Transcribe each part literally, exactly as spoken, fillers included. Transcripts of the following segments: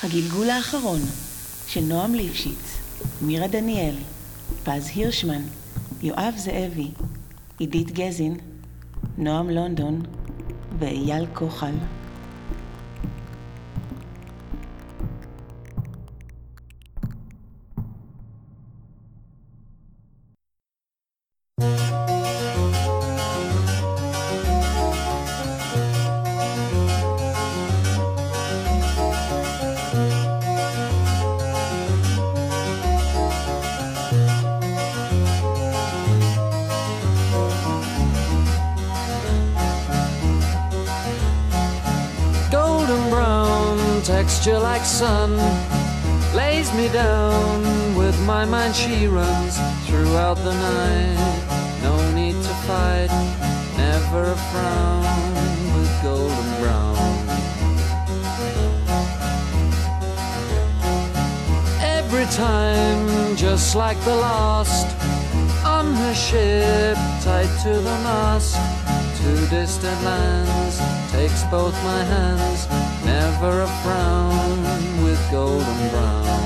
הגלגול האחרון של נועם ליפשיץ, מירה דניאל, פז הירשמן, יואב זאבי, עידית גזין, נועם לונדון ואייל כוחל. Texture like sun lays me down. With my mind she runs throughout the night. No need to fight, never a frown. With golden brown, every time just like the last. On her ship tied to the mast, to distant lands takes both my hands. Never a frown with golden brown.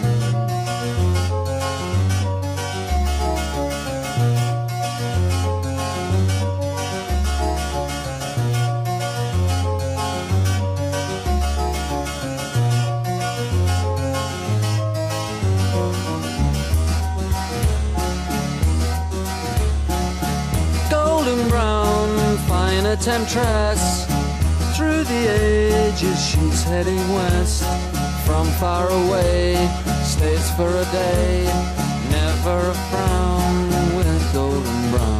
Golden brown, fine a temptress. Through the ages she's heading west. From far away, stays for a day. Never a frown with golden brown.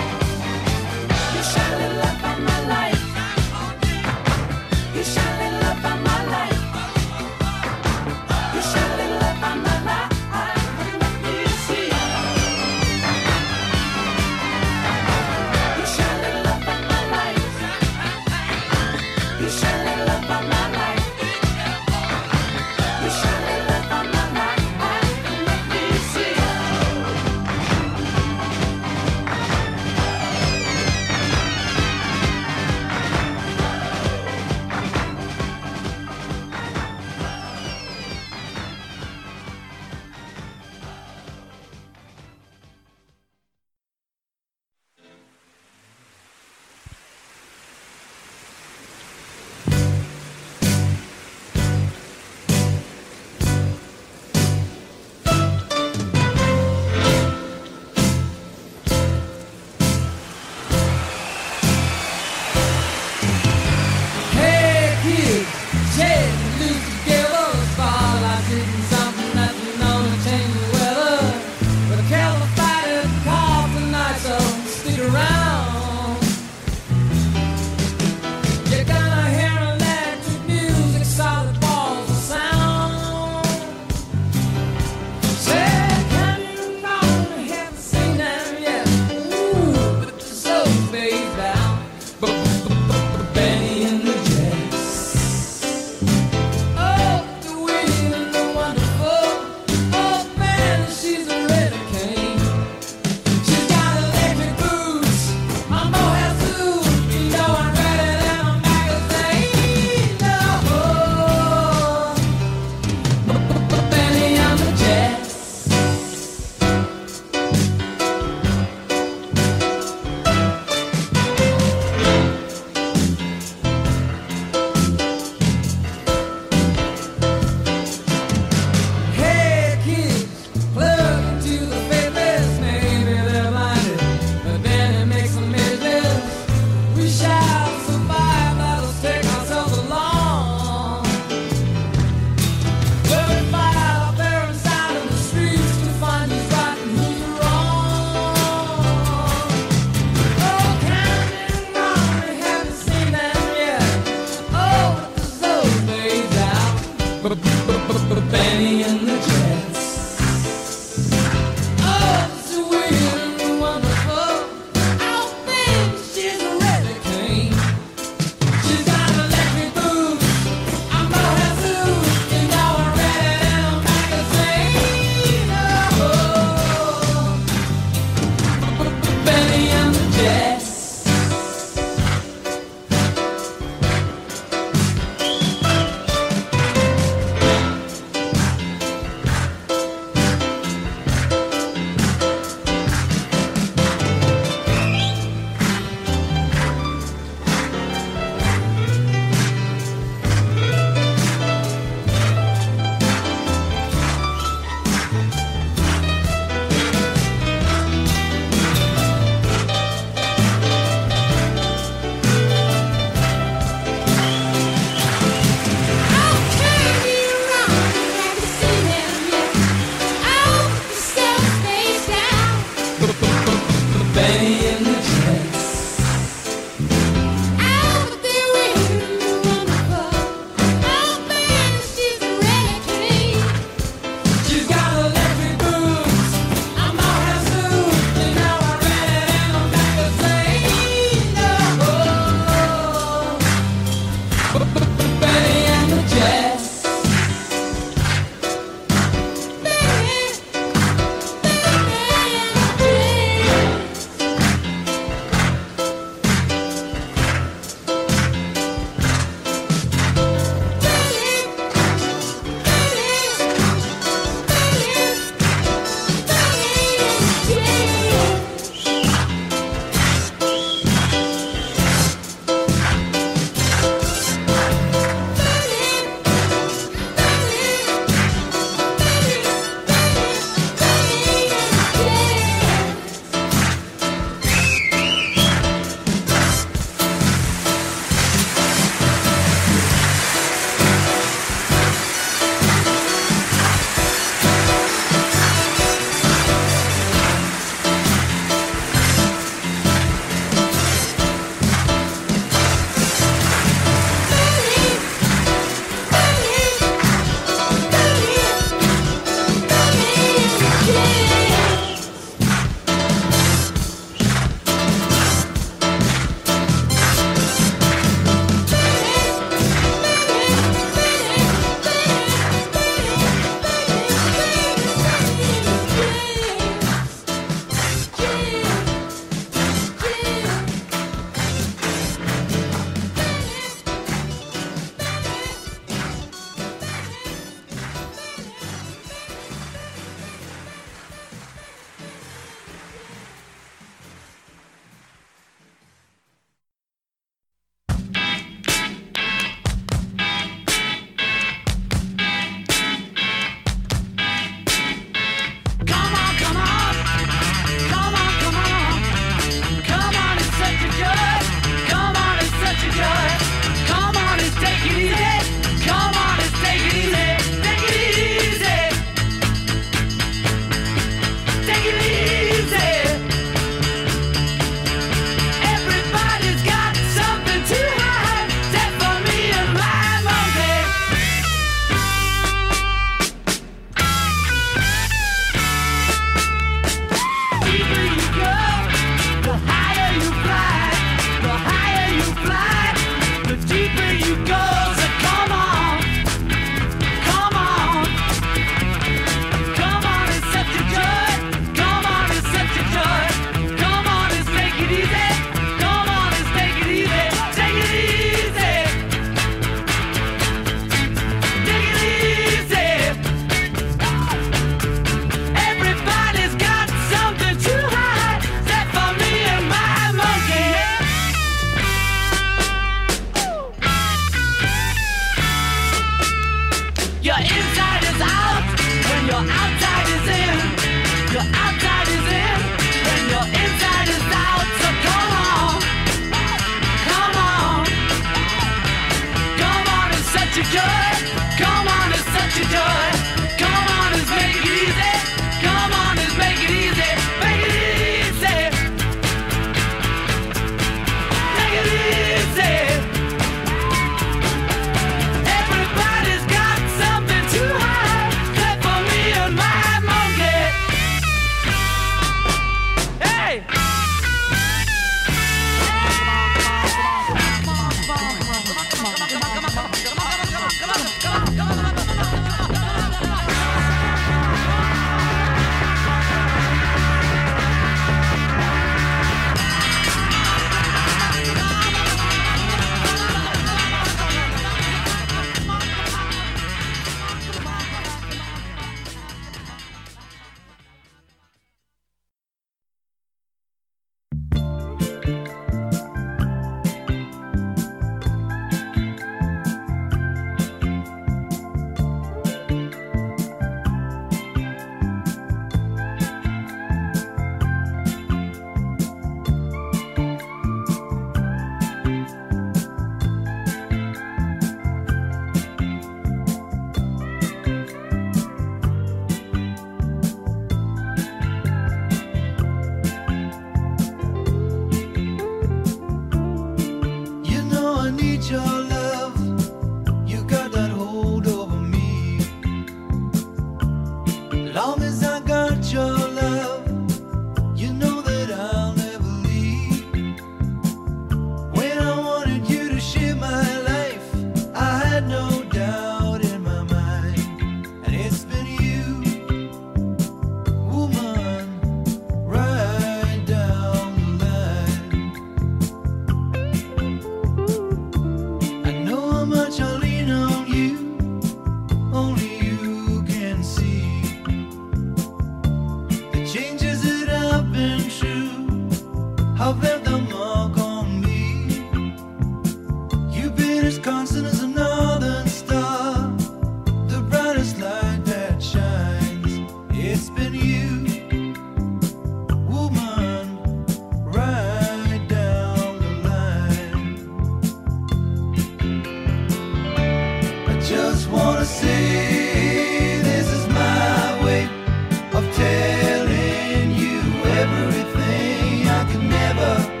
everything I can never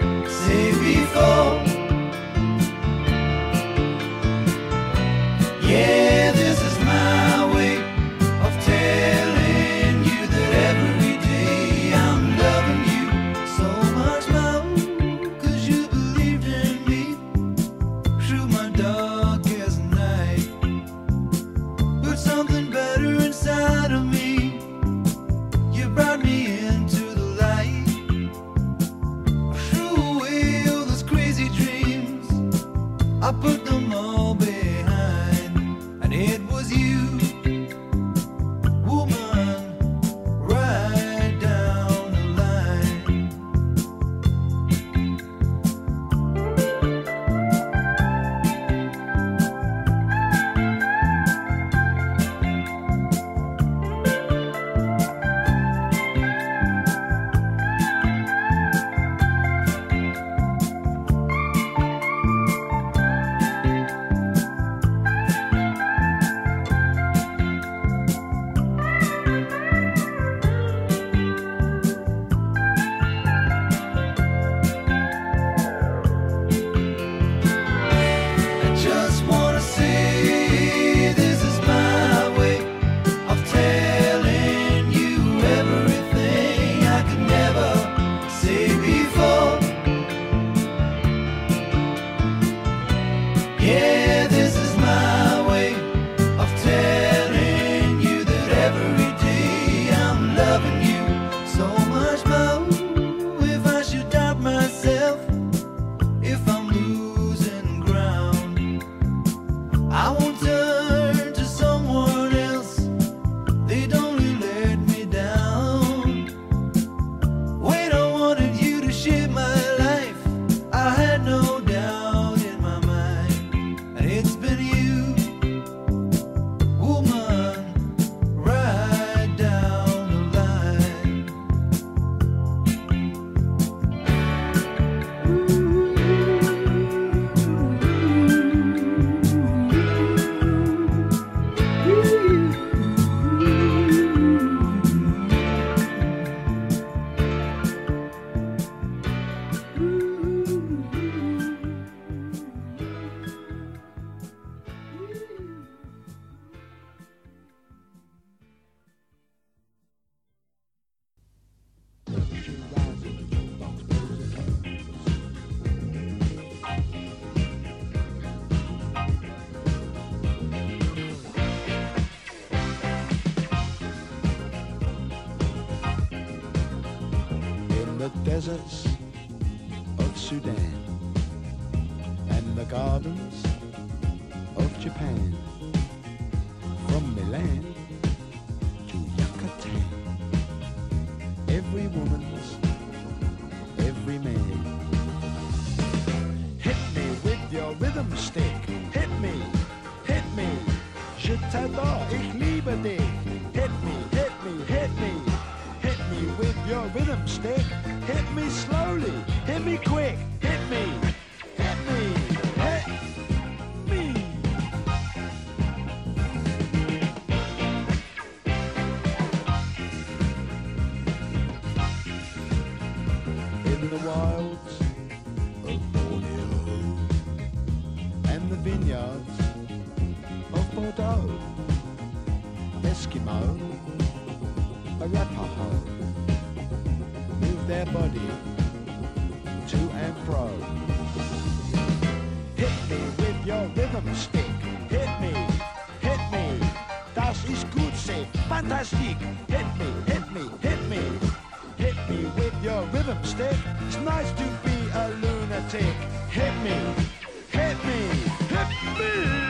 the deserts of Sudan and the gardens of Japan, from Milan to Yucatan. Every woman's, every man. Hit me with your rhythm stick. Hit me, hit me. Je t'adore, ich liebe dich. Hit me, hit me, hit me. Hit me with your rhythm stick. Hit me slowly, hit me quick. Hit me, hit me, hit me. In the wilds of Borneo and the vineyards of Bordeaux, Eskimo, Arapaho, move their body to and fro. Hit me with your rhythm stick. Hit me, hit me. Das ist gut, say fantastic. Hit me, hit me, hit me. Hit me with your rhythm stick. It's nice to be a lunatic. Hit me, hit me, hit me.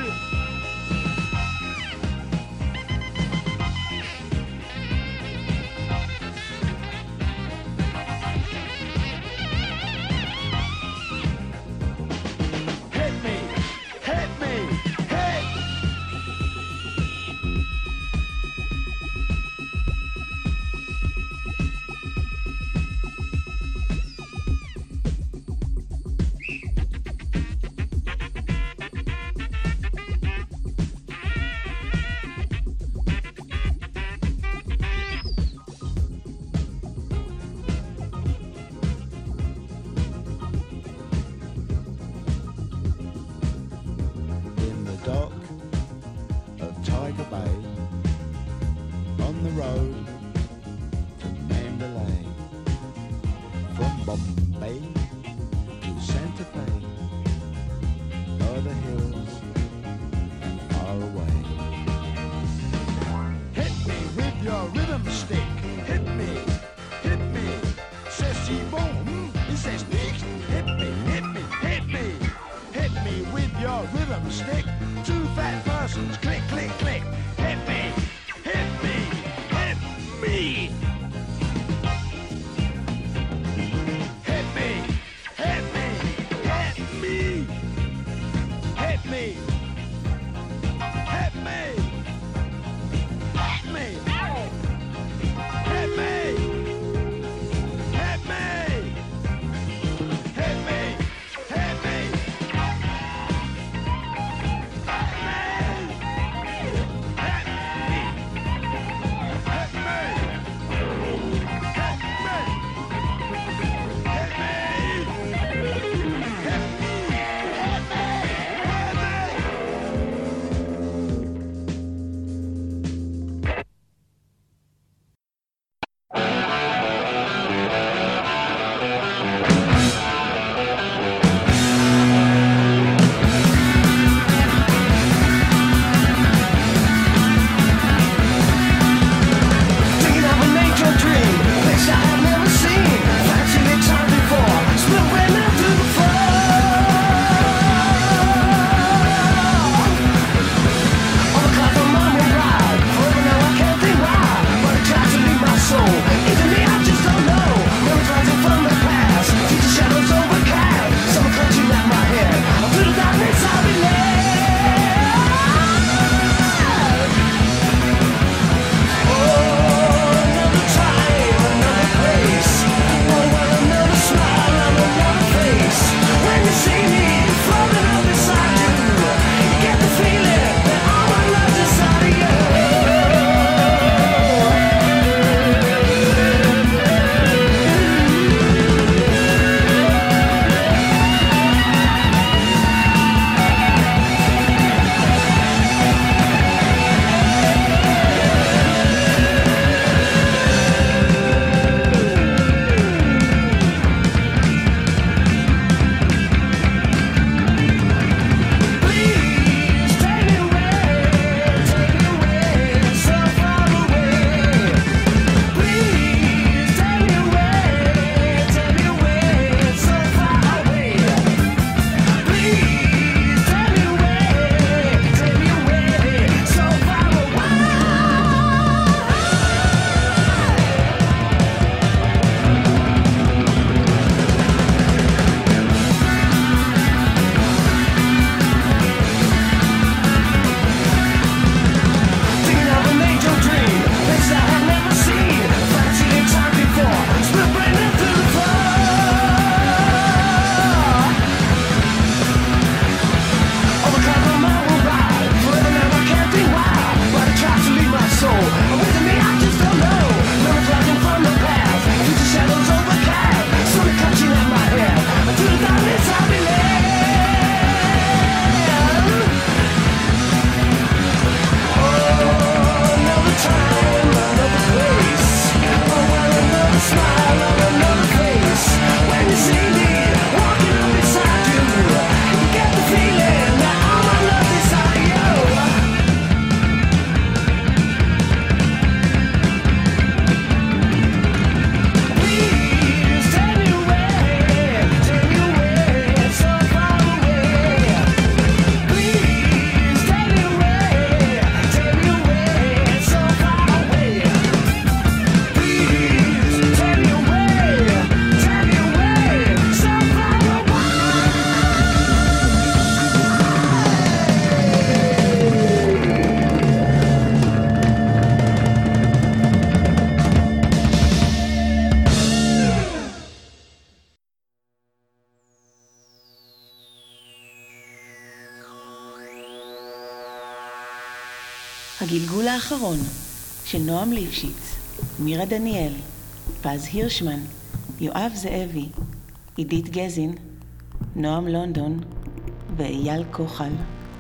הגלגול האחרון של נועם ליפשיץ, מירה דניאל, פז הירשמן, יואב זאבי, עידית גזין, נועם לונדון ואייל כוחל.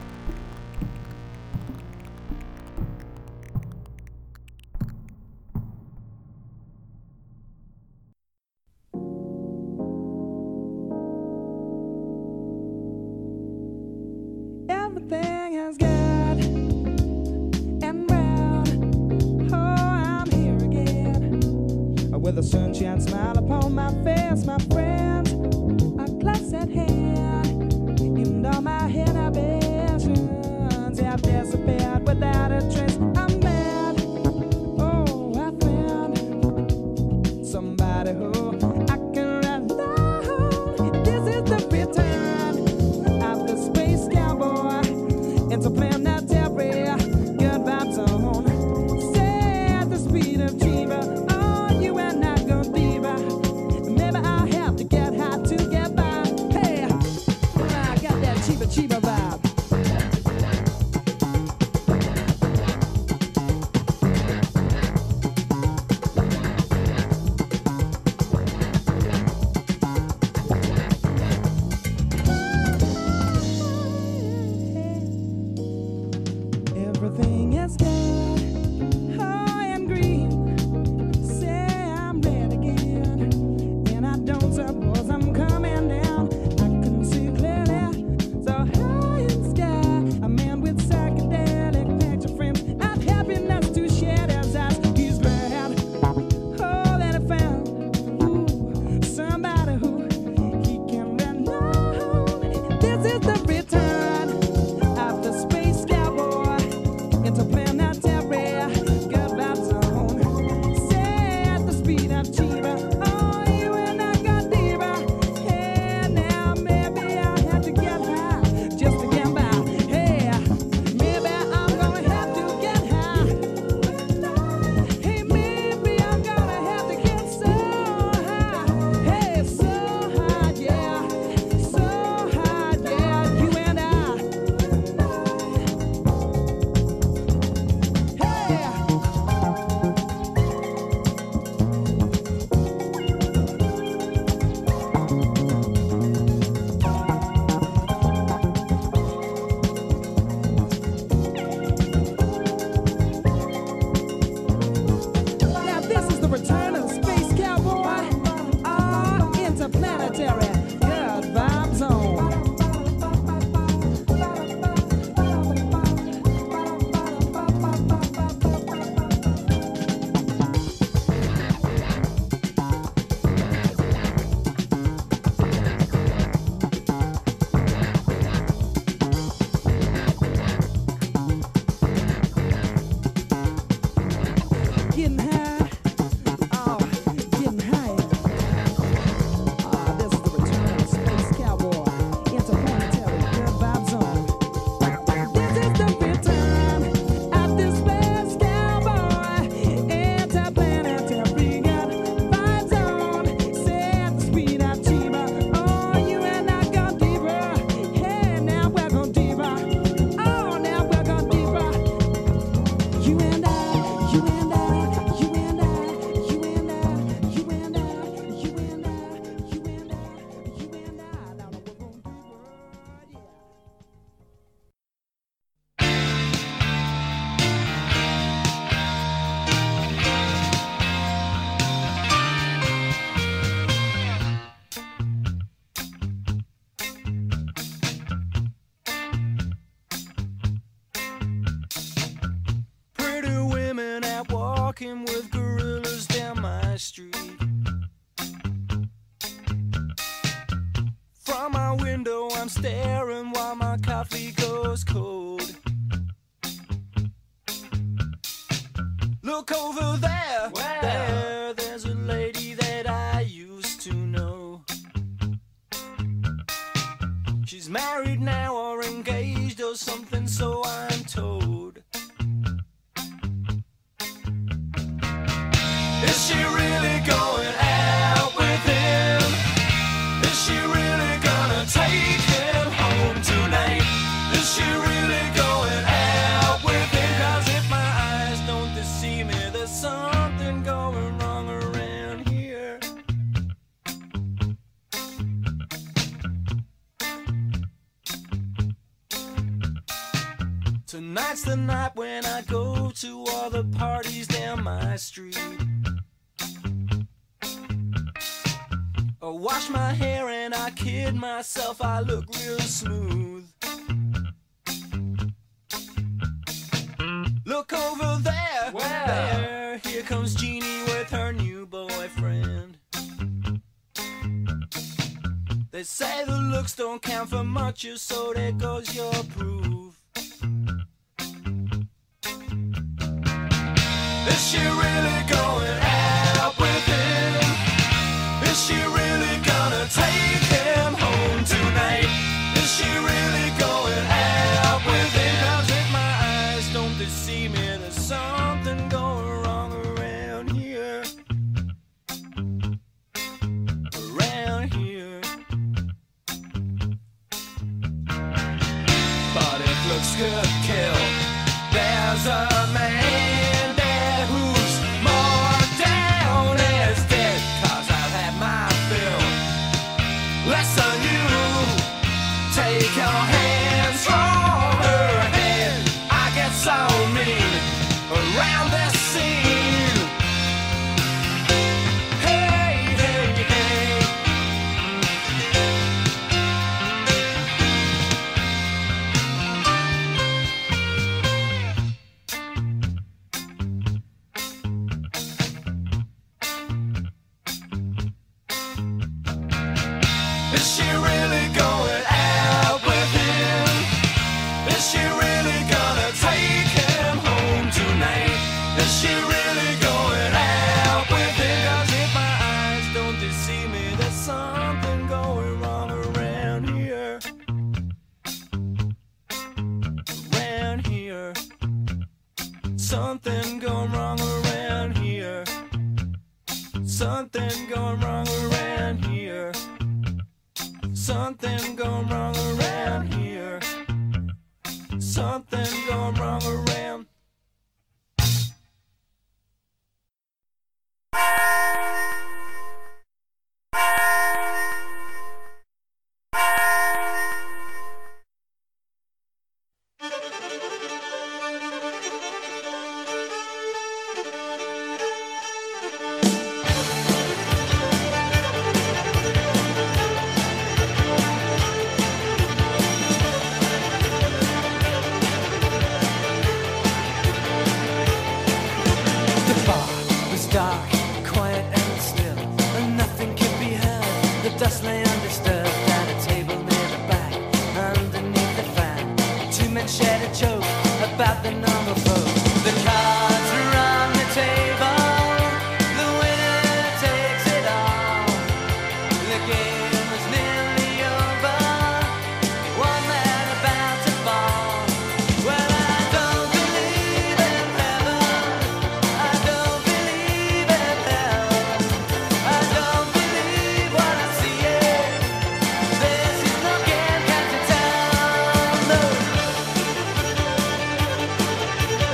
Everything has got and round. Oh, I'm here again with a sunshine smile upon my face, my friends. A glass at hand, and all my inhibitions have disappeared without a trace. I'm mad. Oh, I found somebody who I can rely on. This is the return of the space cowboy into planetary good vibes on. Say at the speed of Chiba, oh, you and I go deeper. Maybe I have to get high to get by. Hey, I got that Chiba Chiba vibe. Everything is good, high and green. Say I'm red again, and I don't suppose I'm coming down. I can see clearly, so high in the sky. A man with psychedelic picture frames and happiness to share his eyes. He's glad, oh, that I found ooh, somebody who he can rely on. This is the return of the space cowboy into planetary good vibes zone. Say at the speed of Chiba, oh, you and I got deeper. Hey, now maybe I have to get high just to get by. Hey, maybe I'm gonna have to get high. Hey, maybe I'm gonna have to get so high. Hey, so high, yeah, so high, yeah, you and I. Hey. Now this is the return of the space cowboy, ah, interplanetary good vibe zone. Getting high, oh, getting higher. Ah, this is the return of the space cowboy, interplanetary good vibe zone. This is the return of the space cowboy, interplanetary good vibe zone. Say at the speed of Chiba, oh, you and I go deeper. Hey, now we're going deeper. Oh, now we're going deeper. You and I, you and I, you and I, you and I, you and I, you and I, you and I, you and I. Now we're going deeper, yeah. Pretty women out walking with gorillas down my street. From my window I'm staring while my coffee goes cold. Look over there, there, there's a lady that I used to know. She's married now or engaged or something, so I'm told. Is she really going out with him? Is she really gonna take him home tonight? Is she really Tonight's the night when I go to all the parties down my street. I wash my hair and I kid myself, I look real smooth. Look over there, Where? there, here comes Jeannie with her new boyfriend. They say the looks don't count for much, so there goes your proof. Is she really going out with him? Is she really gonna take him home tonight? Is she really going out with him? 'Cause if my eyes don't deceive me, there's something going wrong around here. Around here. But if looks could kill, there's a man there who's more down as dead. 'Cause I've had my fill. Less than you. Take your hands from her head. I get so mean around this scene. Hey, hey, hey. Is she really going out with him? Is she really gonna take him home tonight? Is she really going out with him? 'Cause if my eyes don't deceive me, there's something going wrong around here. Around here. Something going wrong around here. Something going wrong around here. Something going wrong around here. Something going wrong around. The bar was dark, quiet and still, and nothing could be heard. The dust lay undisturbed at a table near the back, underneath the fan. Two men shared a joke about the normal folk. The cards were on the table, the winner takes it all. The game was nearly over, one man about to fall. Well, I don't believe in heaven, I don't believe in hell, I don't believe what I see. This is no game, can't you tell? No.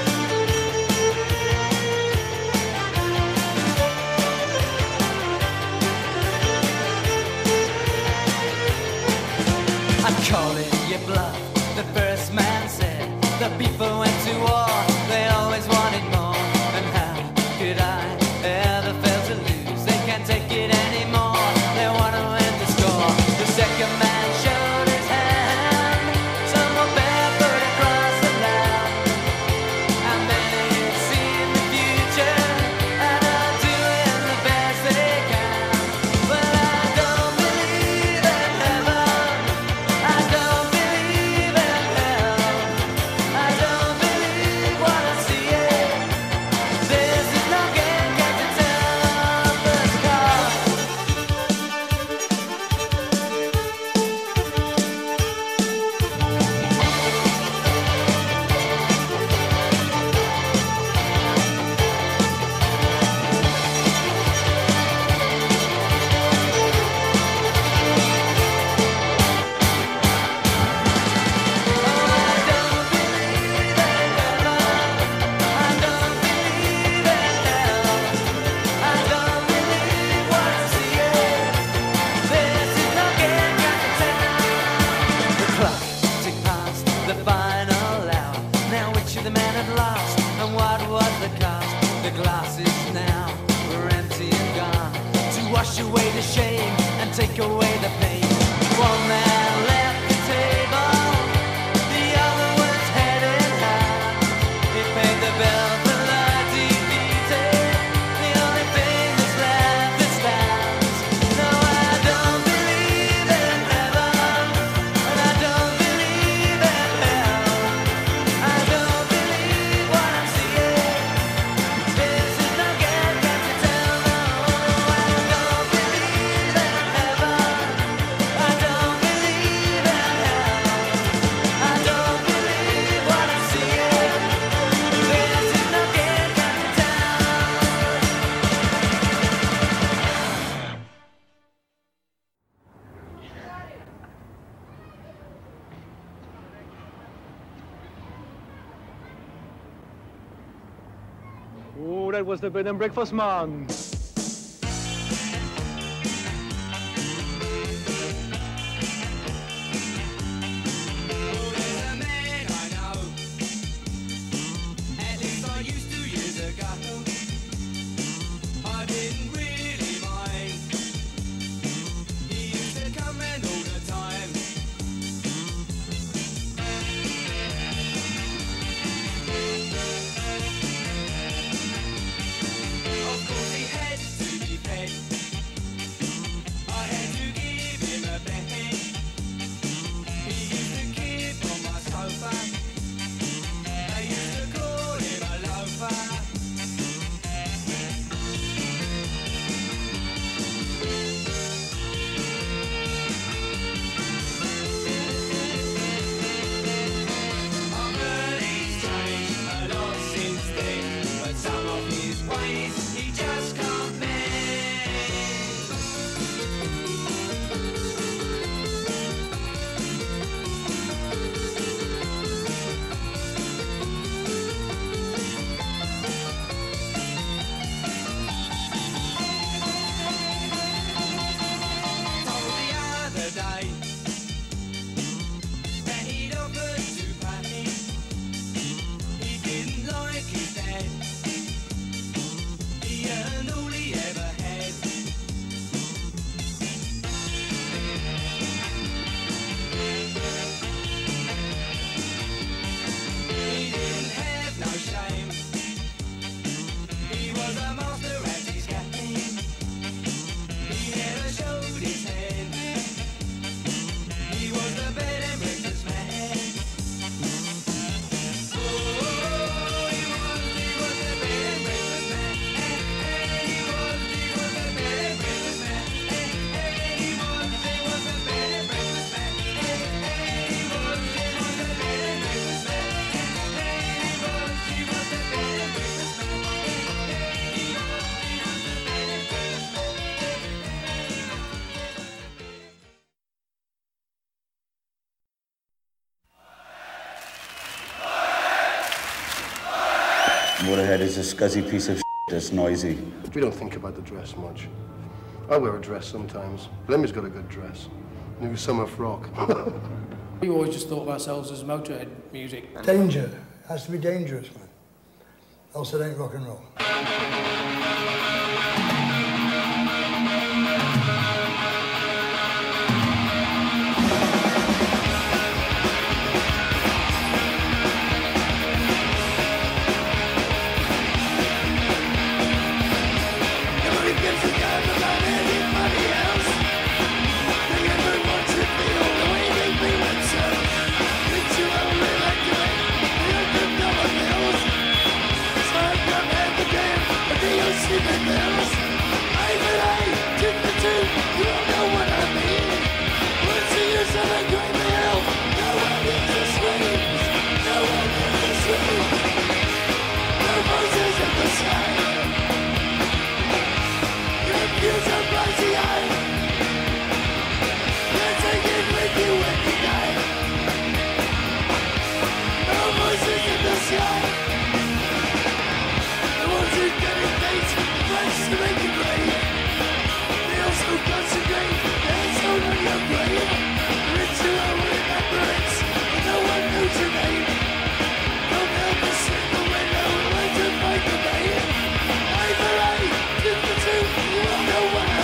wash away the shame and take away the pain. One man left the table, the other was head in hand. He paid the bill for the defeated, the only thing that's left that stands. No, I don't believe in heaven, and I don't believe in hell. I don't believe what I'm seeing. This is no game, can't you tell? No, I don't believe in heaven. I don't believe in hell. I don't believe what I'm seeing. This is no game, can't you tell? Oh, that was the bed and breakfast, man. There's a man I know, at least I used to years ago. I didn't really mind. He used to come in all the time. Of course he had to be fed. I had to give him a bed. He used to keep on my sofa. They used to call him a loafer. I've heard he's changed a lot since then, but some of his ways he just can't mend. Told the other day that he'd offered to pay. He didn't like his dad. He earned all he ever had. He didn't have no shame. He was a master at his game. He never showed his hand. He was the bed and breakfast man. Oh, he was, he was the bed and breakfast man. Eh, eh, he was, he was the bed and breakfast man. Eh, eh, he was, he was the bed and breakfast man. Eh, eh, he was, he was the bed and breakfast man. Eh, eh, he was, he was the bed and breakfast man. Eh, eh, he was, he was the bed and breakfast man. Motorhead is a scuzzy piece of shit that's noisy. We don't think about the dress much. I wear a dress sometimes. Lemmy's got a good dress. New summer frock. We always just thought of ourselves as Motorhead music. Danger. Has to be dangerous, man. Else it ain't rock and roll. Nobody gives a damn about anybody else. They ever want to feel the way they feel themselves. Think you only like to it, they don't give no one else. So I've got at the game, but they don't sleep in bells. I but I, two for two, you don't know what I mean. What's the use of a great meal? No one gives a screams, no one gives a screams. No voices in the sky. Confused and bloody-eyed. You're taking with you when you die. No voices in the sky. The ones who dedicate friends to make you brave. They also concentrate their soul on your grave. Ritual remembrance, but no one knows your name. Don't help a single window when to fight the pain. Eye for eye, tooth for tooth, you won't know what I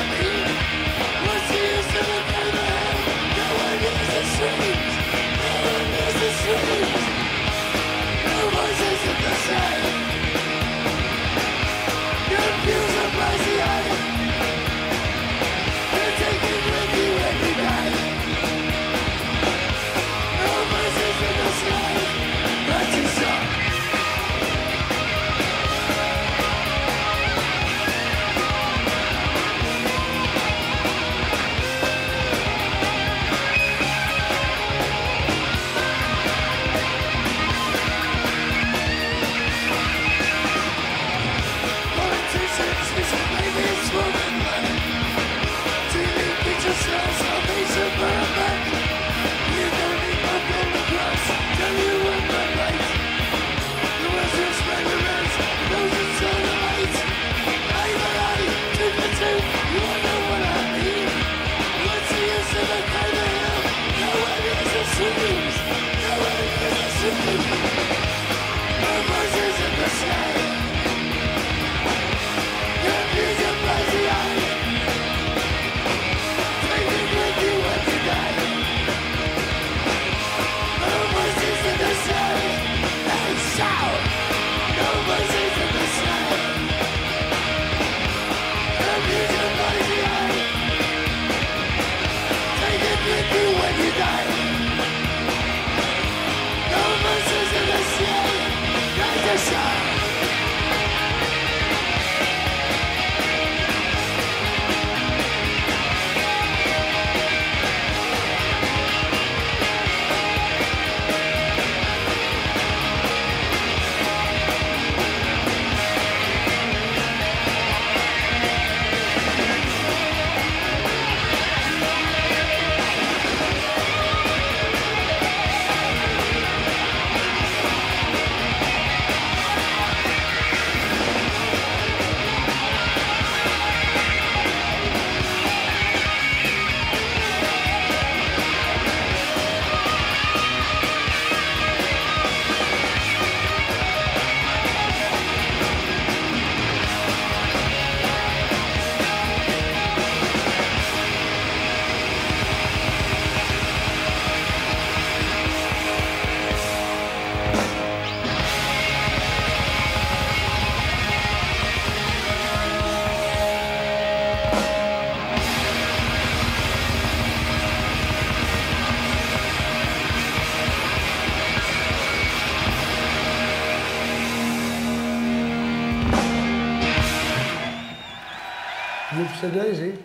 Whoopsie daisy.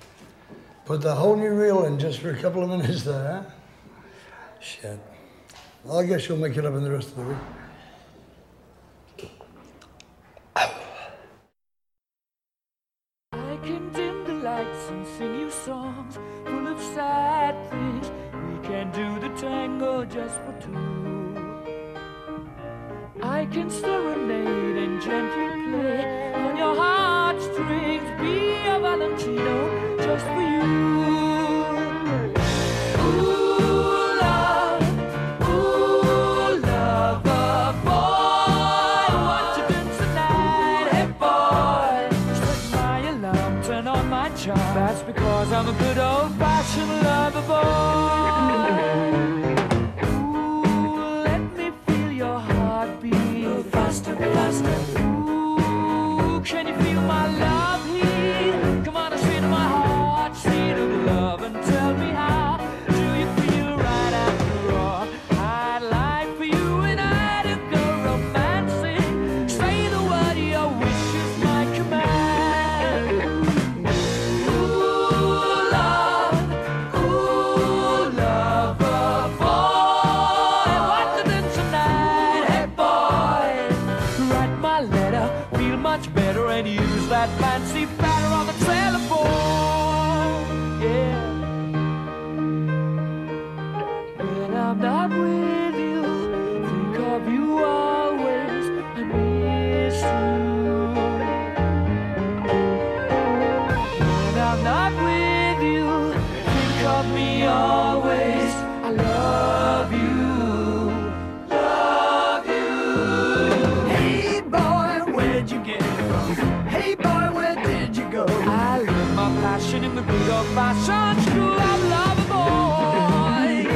Put the whole new reel in just for a couple of minutes there, huh? Shit. Well, I guess you'll make it up in the rest of the week. I can dim the lights and sing you songs full of sad things. We can do the tango just for two. I can serenade and gently play on your heartstrings. Be a Valentino just for you. Ooh, love, ooh, lover boy, what you doing tonight? Hey boy, set my alarm, turn on my charm. That's because I'm a good old-fashioned lover boy. Faster, faster. Ooh, can you feel my love heat? Come on and sit in my heart, seat of love, and tell me how do you feel right after all? I'd like for you and I to go romancing. Say the word, your wish is my command. Ooh, love, ooh, lover boy, what to do tonight? Hey boy, write my letter, feel much better, and use that fancy batter on the telephone. Yeah. When I'm not with you, think of you always, I miss you. When I'm not with you, think of me always, I love you. In the good old-fashioned school of lover boy.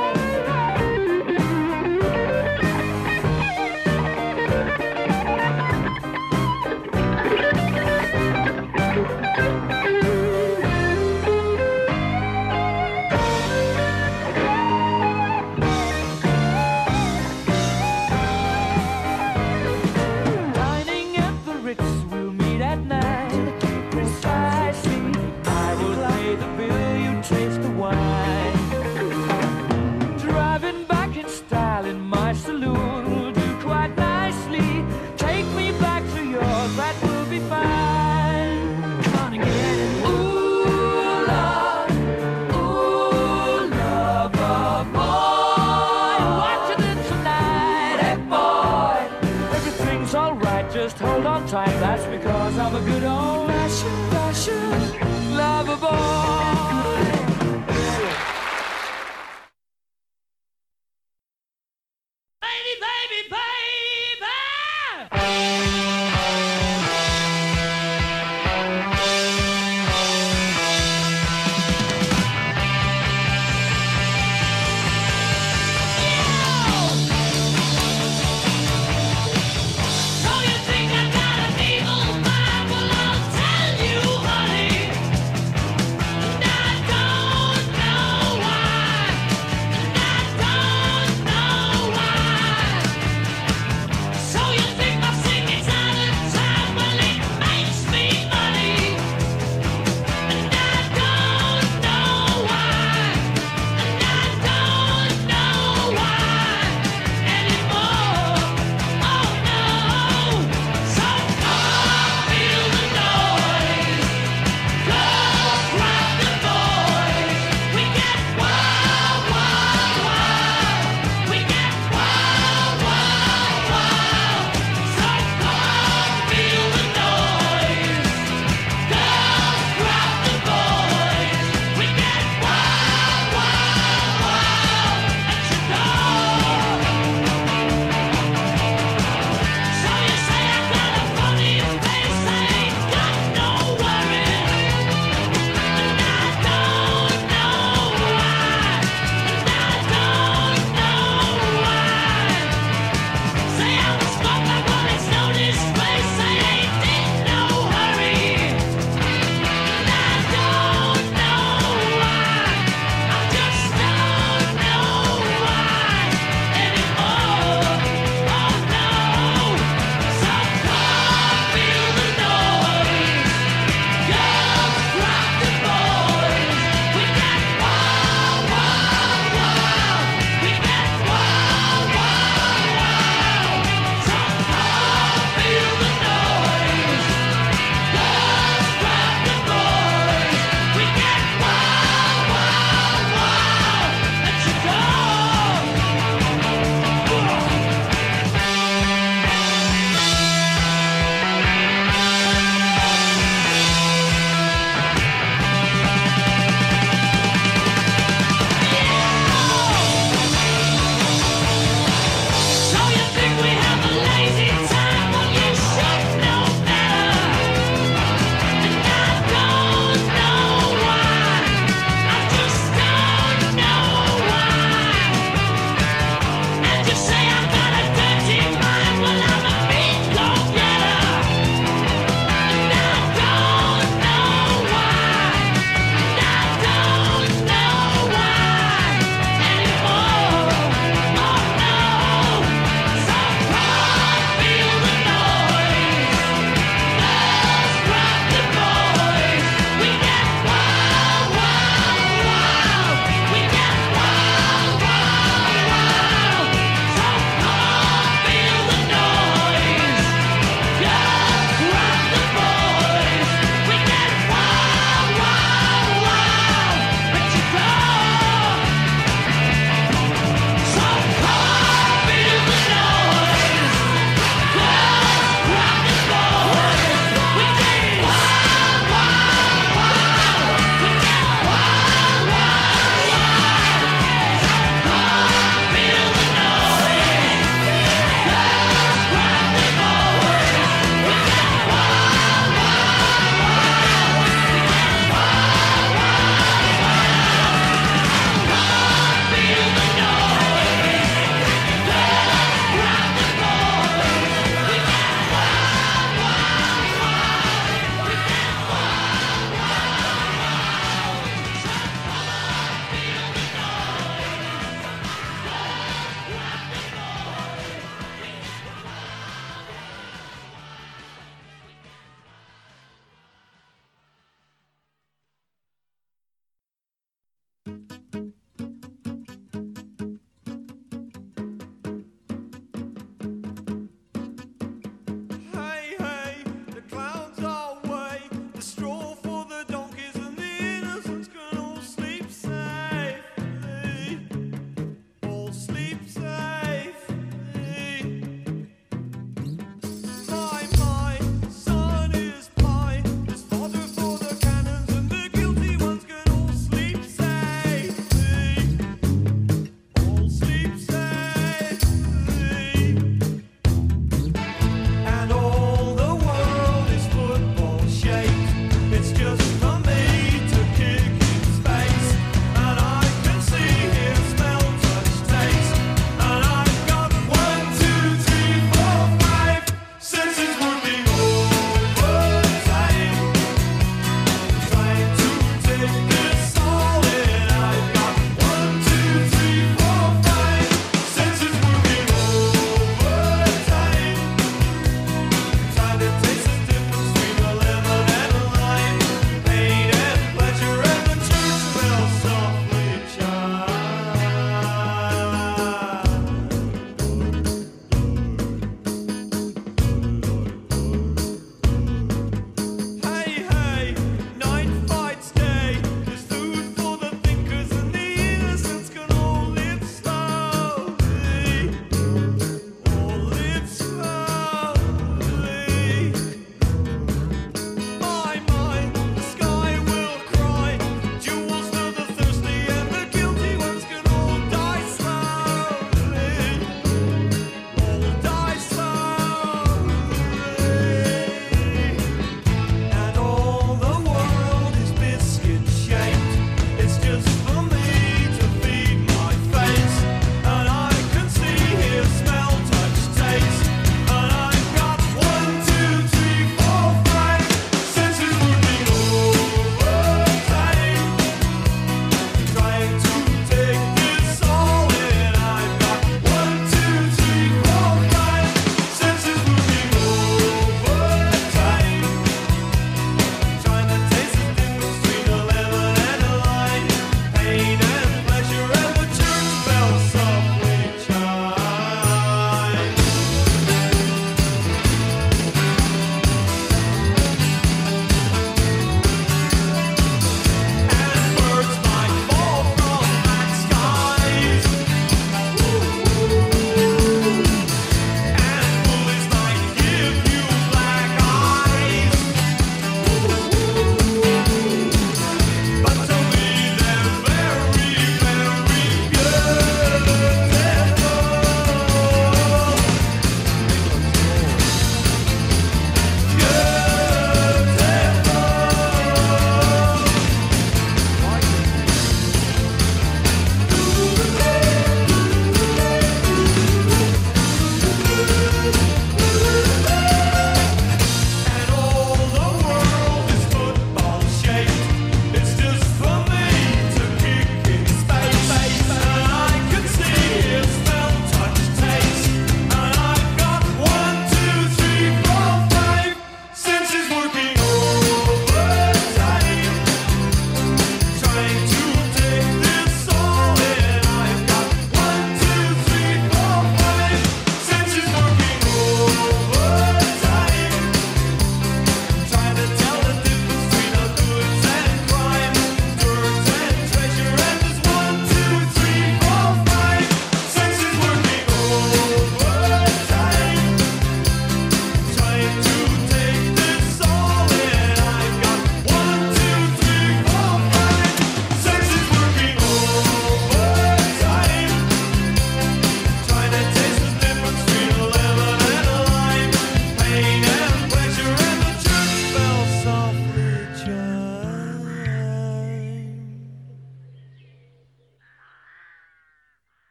Dining at the Ritz, we'll meet at night. Precisely, I will pay the bill.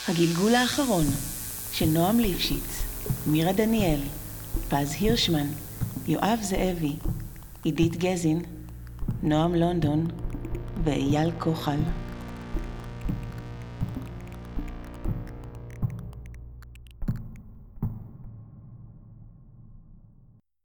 הגלגול האחרון של נועם ליפשיץ, מירה דניאל, פז הירשמן, יואב זאבי, עידית גזין, נועם לונדון ואייל כוחל.